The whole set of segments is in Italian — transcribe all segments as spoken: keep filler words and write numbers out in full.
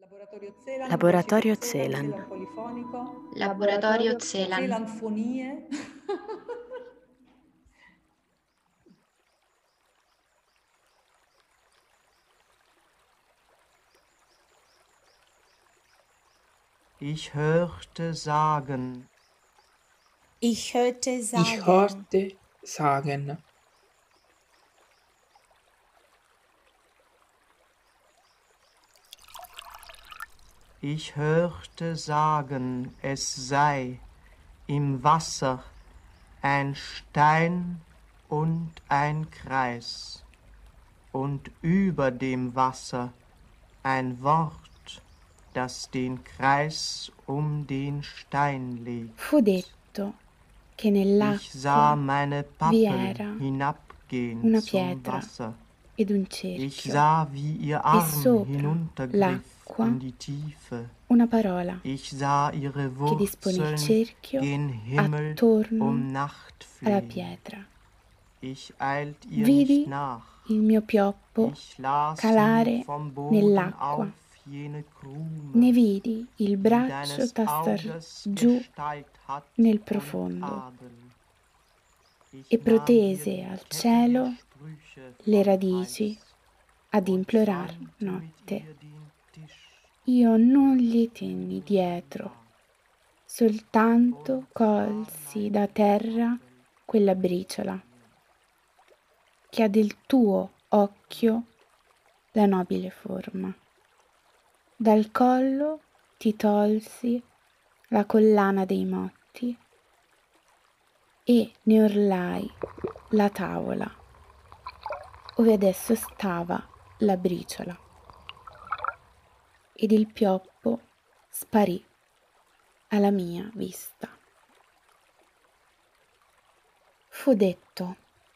Laboratorio Celan, recita Laboratorio Celan, Celan. Celan polifonico, Laboratorio Celan. Celanfonie. Ich hörte sagen, Ich hörte sagen. Ich hörte sagen. ich hörte sagen, es sei im Wasser ein Stein und ein Kreis und über dem Wasser ein Wort, das den Kreis um den Stein legt. Fu detto che Ich sah nell'acqua meine vi Pappel era hinabgehen una zum pietra Wasser. ed un Ich cerchio sah, wie ihr e Arm sopra hinuntergriff l'acqua in die Tiefe. una parola Ich sah ihre che dispone il Wurzeln cerchio gen Himmel attorno um Nacht alla fliehen. pietra. Ich eilt ihr Vidi nicht nach. il mio pioppo Ich las calare nur vom Boden nell'acqua. auf jene Krume, Ne vidi il die braccio deines tastar Auges giù Gestalt hat nel und profondo Adel. Ich e nahm protese ihr die al Kette der cielo Sprüche le vom radici Hals ad und implorar säumte mit notte. ihr den Tisch, Io non gli tenni dietro, soltanto colsi da terra quella briciola che ha del tuo occhio la nobile forma. Dal collo ti tolsi la collana dei motti e ne orlai la tavola, ove adesso stava la briciola, ed il pioppo sparì alla mia vista. Fu detto.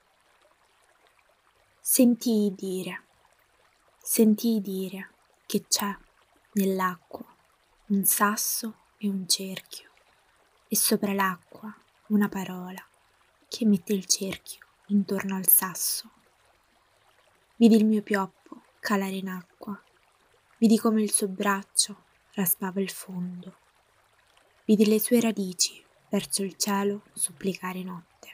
Sentii dire, sentii dire che c'è nell'acqua un sasso e un cerchio, e sopra l'acqua una parola che mette il cerchio intorno al sasso. Vidi il mio pioppo calare in acqua, vidi come il suo braccio raspava il fondo, vidi le sue radici verso il cielo supplicare notte.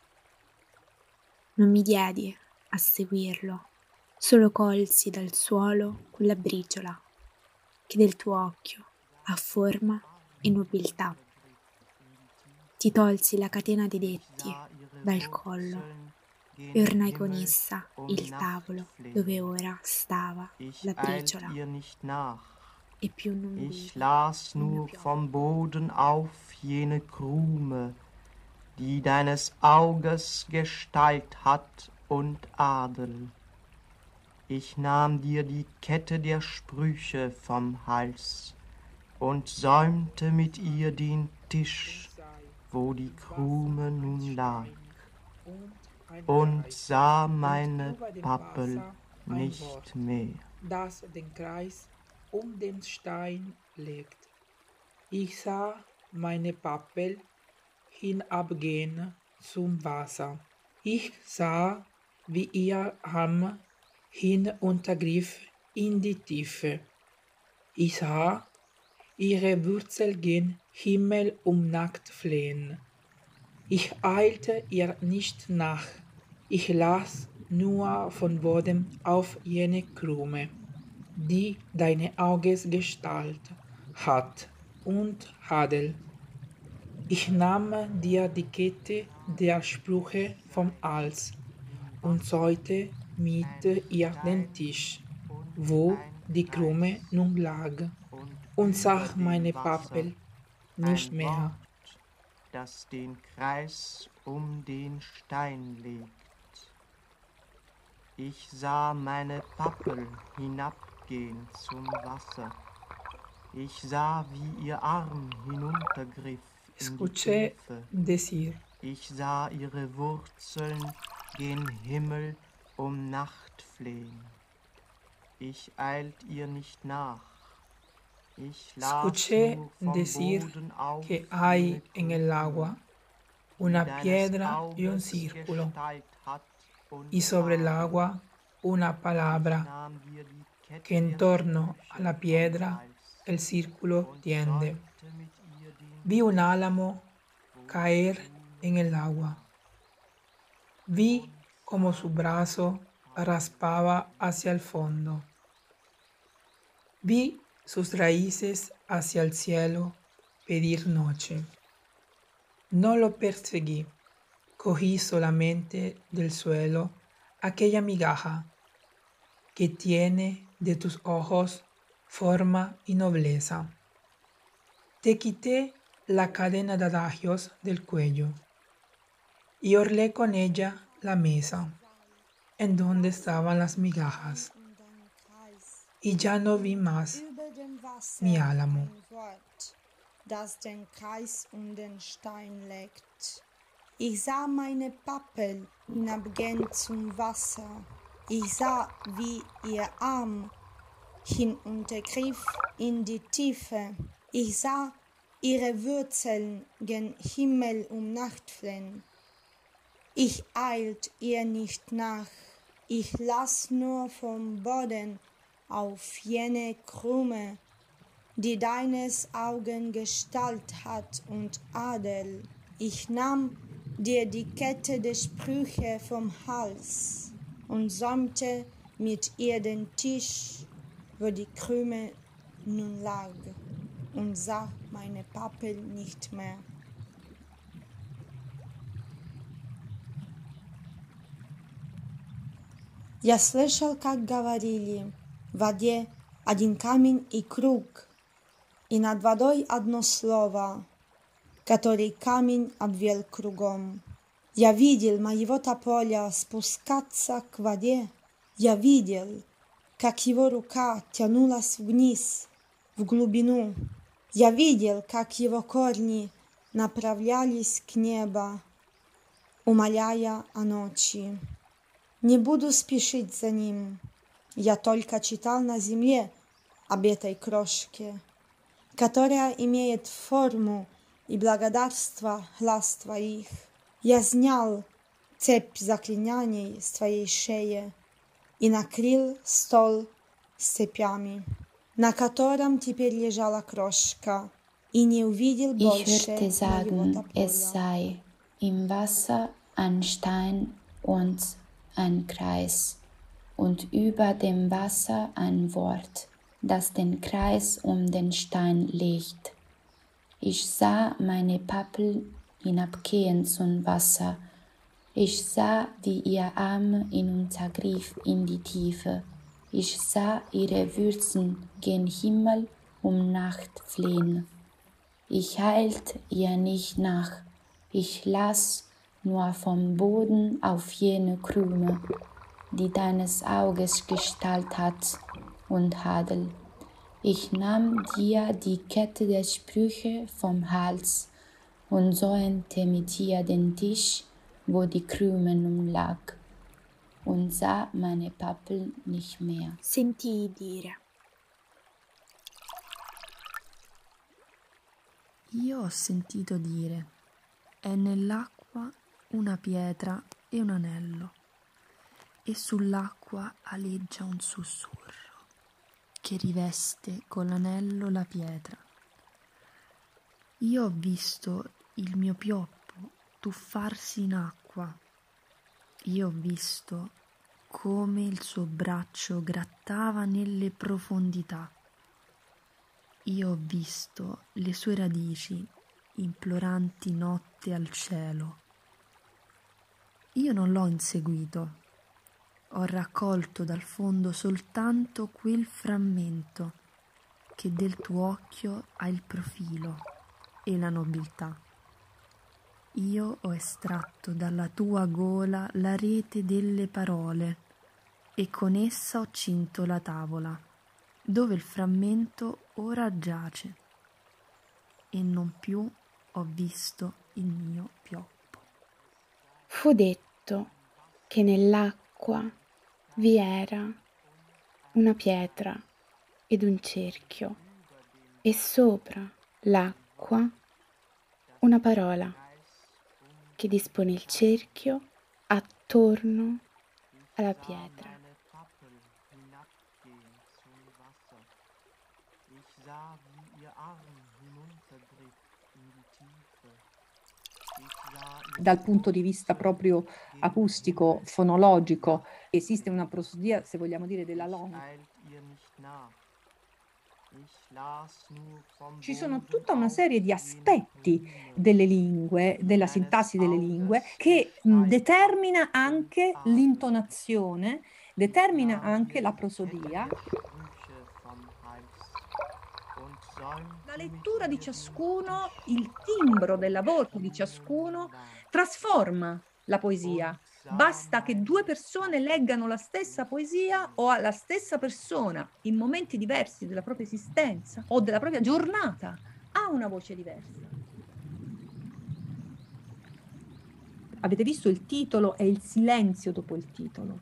Non mi diedi a seguirlo, solo colsi dal suolo quella briciola che del tuo occhio ha forma e nobiltà. Ti tolsi la catena dei detti dal collo e ornai con essa il tavolo dove ora stava la briciola. E più non vidi Ich las il mio nur pioppo. vom Boden auf jene Krume, die deines Auges Gestalt hat und Adel. Ich nahm dir die Kette der Sprüche vom Hals und säumte mit ihr den Tisch, wo die Krume nun lag, und sah meine Pappel nicht mehr. Das den Kreis um den Stein legt. Ich sah meine Pappel hinabgehen zum Wasser. Ich sah, wie ihr Arm hinuntergriff in die Tiefe. Ich sah ihre Wurzel gen Himmel um Nacht flehen. Ich eilte ihr nicht nach. Ich las nur von Boden auf jene Krume, die deine Auges Gestalt hat und Adel. Ich nahm dir die Kette der Sprüche vom Hals und säute mit ihr den Tisch, wo die Krume nun lag, und sah meine Pappel nicht ein mehr. Wort, das den Kreis um den Stein legt. Ich sah meine Pappel hinabgehen zum Wasser. Ich sah, wie ihr Arm hinuntergriff in die Escuché Tiefe. decir, Ich sah ihre Wurzeln gen Himmel um Nacht flehen. Ich eilt ihr nicht nach. Ich las escuché nur vom decir Boden auf que hay jene en el agua Krume, una die deines piedra y un Auges círculo, Gestalt hat und y sobre el Adel. agua una Ich palabra nahm dir die que en torno a la piedra el círculo tiende. Vi un álamo caer en el agua. Vi como su brazo raspaba hacia el fondo. Vi sus raíces hacia el cielo pedir noche. No lo perseguí, cogí solamente del suelo aquella migaja que tiene de tus ojos forma y nobleza. Te quité la cadena de adagios del cuello y orlé con ella la mesa en donde estaban las migajas, y ya no vi más mi álamo. Das den Kreis um den Stein legt. Ich sah meine Pappel hinabgehen zum Wasser. Ich sah, wie ihr Arm hinuntergriff in die Tiefe. Ich sah ihre Wurzeln gen Himmel um Nacht fliehen. Ich eilt ihr nicht nach. Ich las nur vom Boden auf jene Krume, die deines Augen Gestalt hat und Adel. Ich nahm dir die Kette der Sprüche vom Hals und säumte mit ihr den Tisch, wo die Krüme nun lag, und sah meine Pappel nicht mehr. Я слышал, как говорили: в воде один камень и круг, и над водой одно слово, который камень обвел кругом. Я видел моего тополя спускаться к воде. Я видел, как его рука тянулась вниз, в глубину. Я видел, как его корни направлялись к небу, умоляя о ночи. Не буду спешить за ним. Я только читал на земле об этой крошке, которая имеет форму и благодарство глаз твоих. Я снял цепь заклинаний с твоей шеи и накрыл стол с цепями, на котором теперь лежала крошка, и не увидел больше Ich hörte sagen, моего es тополя. sei im Wasser ein Stein und ein Kreis, und über dem Wasser ein Wort, das den Kreis um den Stein legt. Ich sah meine Pappel hinabgehen zum Wasser. Ich sah, wie ihr Arm hinuntergriff in die Tiefe. Ich sah ihre Wurzeln gen Himmel um Nacht fliehen. Ich eilt ihr nicht nach. Ich las nur vom Boden auf jene Krüme, die deines Auges Gestalt hat und Adel. Ich nahm dir die Kette der Sprüche vom Hals und säumte mit ihr den Tisch, wo die Krüme nun lag, und sah meine Pappel nicht mehr. Sentii dire. Io ho sentito dire: è nell'acqua una pietra e un anello, e sull'acqua aleggia un sussurro che riveste con l'anello la pietra. Io ho visto il mio pioppo tuffarsi in acqua. Io ho visto come il suo braccio grattava nelle profondità. Io ho visto le sue radici imploranti notte al cielo. Io non l'ho inseguito. Ho raccolto dal fondo soltanto quel frammento che del tuo occhio ha il profilo e la nobiltà. Io ho estratto dalla tua gola la rete delle parole e con essa ho cinto la tavola, dove il frammento ora giace, e non più ho visto il mio pioppo. Fu detto che nell'acqua vi era una pietra ed un cerchio, e sopra l'acqua una parola che dispone il cerchio attorno alla pietra. Ich sah, wie ihr Arm hinunterglitt in die Tiefe. Dal punto di vista proprio acustico, fonologico, esiste una prosodia, se vogliamo dire, della longua. Ci sono tutta una serie di aspetti delle lingue, della sintassi delle lingue, che mh, determina anche l'intonazione, determina anche la prosodia. La lettura di ciascuno, il timbro della voce di ciascuno trasforma la poesia. Basta che due persone leggano la stessa poesia o alla stessa persona in momenti diversi della propria esistenza o della propria giornata ha una voce diversa. Avete visto il titolo e il silenzio dopo il titolo.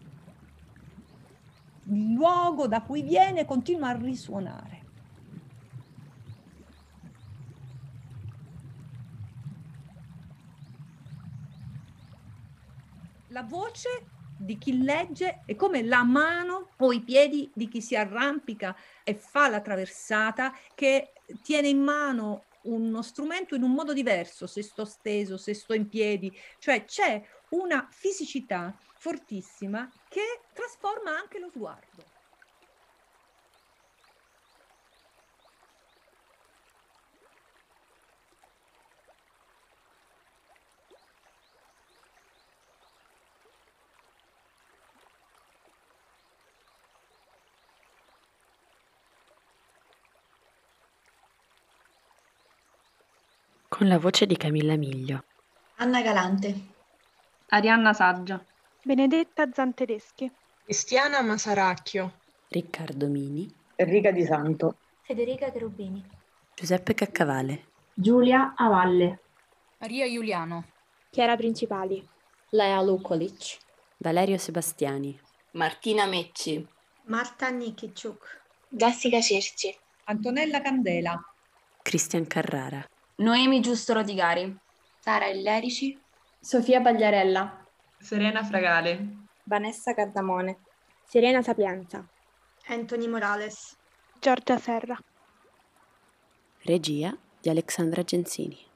Il luogo da cui viene continua a risuonare. La voce di chi legge è come la mano o i piedi di chi si arrampica e fa la traversata, che tiene in mano uno strumento in un modo diverso, se sto steso, se sto in piedi, cioè c'è una fisicità fortissima che trasforma anche lo sguardo. Con la voce di Camilla Miglio. Anna Galante. Arianna Saggia. Benedetta Zantedeschi. Cristiana Masaracchio. Riccardo Mini. Enrica Di Santo. Federica Cherubini. Giuseppe Caccavale. Giulia Avalle. Maria Giuliano. Chiara Principali. Lea Lukolic. Valerio Sebastiani. Martina Mecci. Marta Nikiciuk. Jessica Cerci. Antonella Candela. Cristian Carrara. Noemi Giusto Rodigari. Sara Illerici. Sofia Pagliarella. Serena Fragale. Vanessa Cardamone. Serena Sapienza. Anthony Morales. Giorgia Serra. Regia di Alexandra Genzini.